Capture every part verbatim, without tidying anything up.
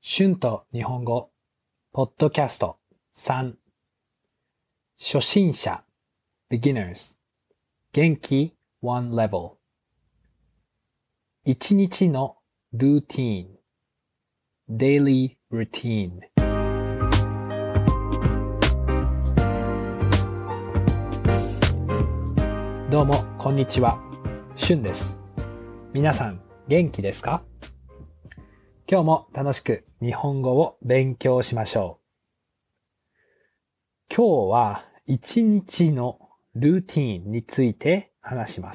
春と日本語、ポッドキャストさん、初心者、beginners、元気 one level、一日のルーティーン、daily routine。どうも、こんにちは。春です。皆さん、元気ですか？今日も楽しく日本語を勉強しましょう。今日は一日のルーティーンについて話します。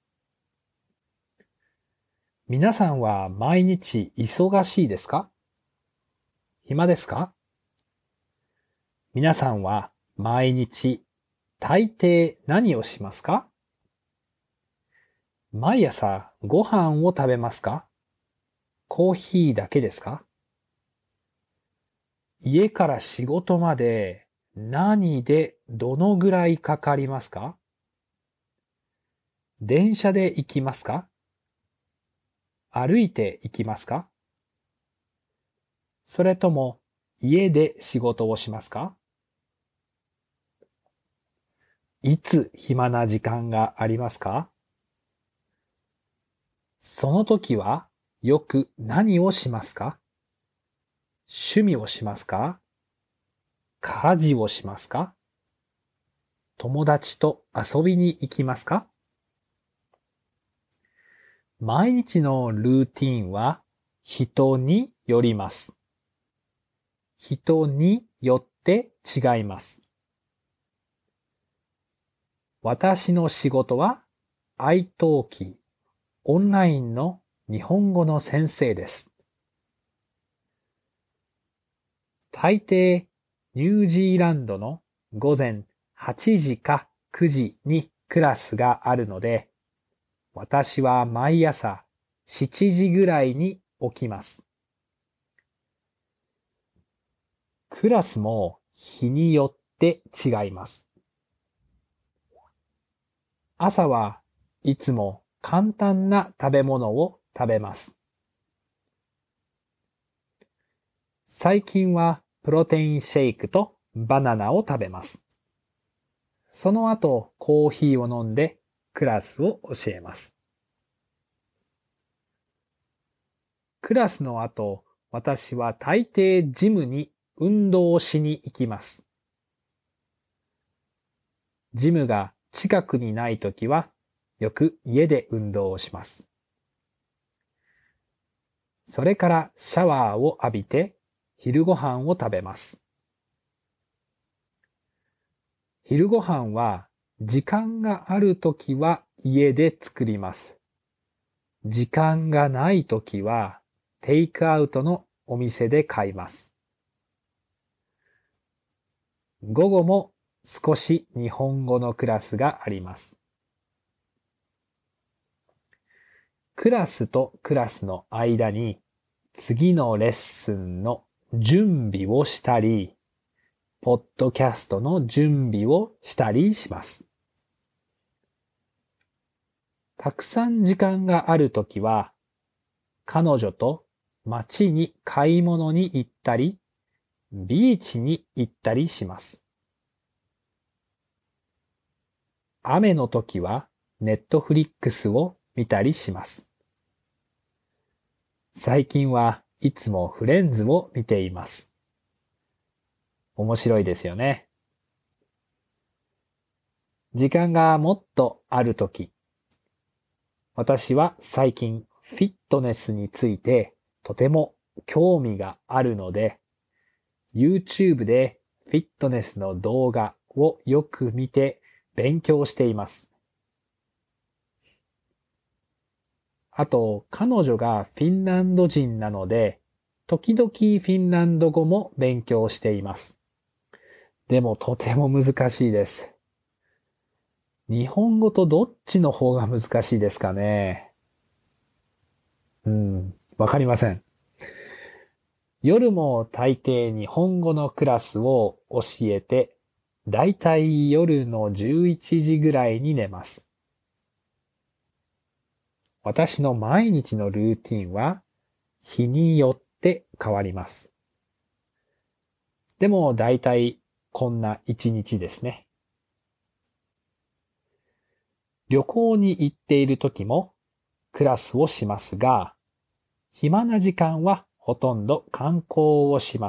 皆さんは毎日忙しいですか？暇ですか？皆さんは毎日大抵何をしますか？毎朝ご飯を食べますか？コーヒーだけですか？家から仕事まで何でどのぐらいかかりますか？電車で行きますか？歩いて行きますか？それとも家で仕事をしますか？いつ暇な時間がありますか？その時はよく何をしますか？趣味をしますか？家事をしますか？友達と遊びに行きますか？毎日のルーティンは人によります。人によって違います。私の仕事は iTalki、オンラインの日本語の先生です。大抵ニュージーランドの午前はちじかくじにクラスがあるので、私は毎朝しちじぐらいに起きます。クラスも日によって違います。朝はいつも簡単な食べ物を食べます。最近はプロテインシェイクとバナナを食べます。その後コーヒーを飲んでクラスを教えます。クラスの後、私は大抵ジムに運動をしに行きます。ジムが近くにないときは、よく家で運動をします。それからシャワーを浴びて、昼ご飯を食べます。昼ご飯は、時間があるときは家で作ります。時間がないときは、テイクアウトのお店で買います。午後も少し日本語のクラスがあります。クラスとクラスの間に次のレッスンの準備をしたり、ポッドキャストの準備をしたりします。たくさん時間があるときは、彼女と街に買い物に行ったり、ビーチに行ったりします。雨の時はネットフリックスを見たりします。最近はいつもフレンズを見ています。面白いですよね。時間がもっとあるとき、私は最近フィットネスについてとても興味があるので、YouTube でフィットネスの動画をよく見て勉強しています。あと、彼女がフィンランド人なので、時々フィンランド語も勉強しています。でもとても難しいです。日本語とどっちの方が難しいですかね。うん、わかりません。夜も大抵日本語のクラスを教えて、だいたい夜のじゅういちじぐらいに寝ます。私の毎日のルーティンは日によっって変わります。でもだいたいこんな一日ですね。旅行に行っている時もクラスをしますが、暇な時間はほとんど観光をします。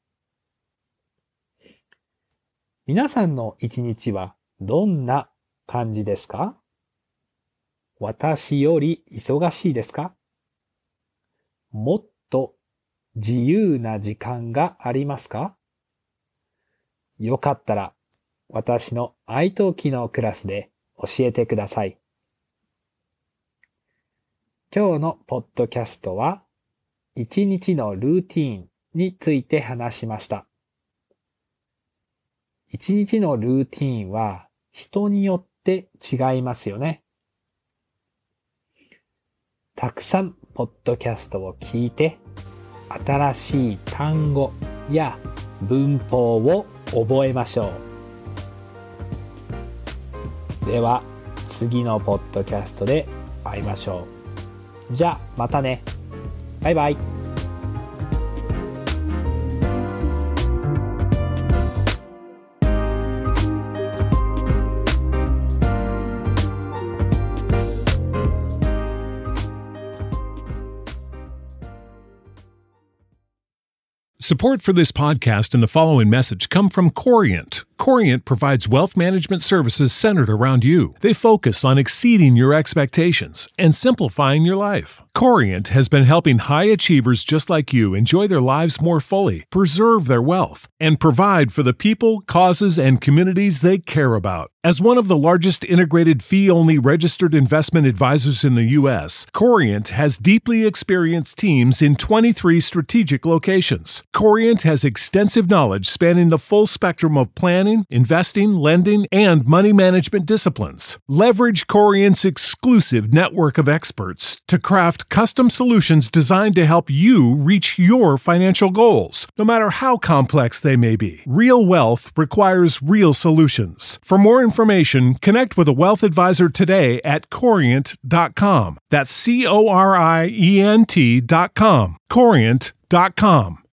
皆さんの一日はどんな感じですか？私より忙しいですか？もっと自由な時間がありますか？よかったら私の愛登記のクラスで教えてください。今日のポッドキャストは一日のルーティーンについて話しました。一日のルーティーンは人によって違いますよね。たくさんポッドキャストを聞いて、新しい単語や文法を覚えましょう。では次のポッドキャストで会いましょう。じゃあまたね。バイバイ。 Support for this podcast and the following message come from Corient. Corient provides wealth management services centered around you. They focus on exceeding your expectations and simplifying your life. Corient has been helping high achievers just like you enjoy their lives more fully, preserve their wealth, and provide for the people, causes, and communities they care about. As one of the largest integrated fee-only registered investment advisors in the U S, Corient has deeply experienced teams in twenty-three strategic locations. Corient has extensive knowledge spanning the full spectrum of planning, investing, lending, and money management disciplines. Leverage Corient's exclusive network of experts to craft custom solutions designed to help you reach your financial goals, no matter how complex they may be. Real wealth requires real solutions. For more information, connect with a wealth advisor today at corient dot com. That's C O R I E N T dot com. corient dot com.